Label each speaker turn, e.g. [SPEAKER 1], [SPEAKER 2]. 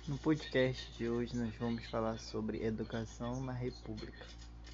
[SPEAKER 1] No podcast de hoje nós vamos falar sobre educação na República.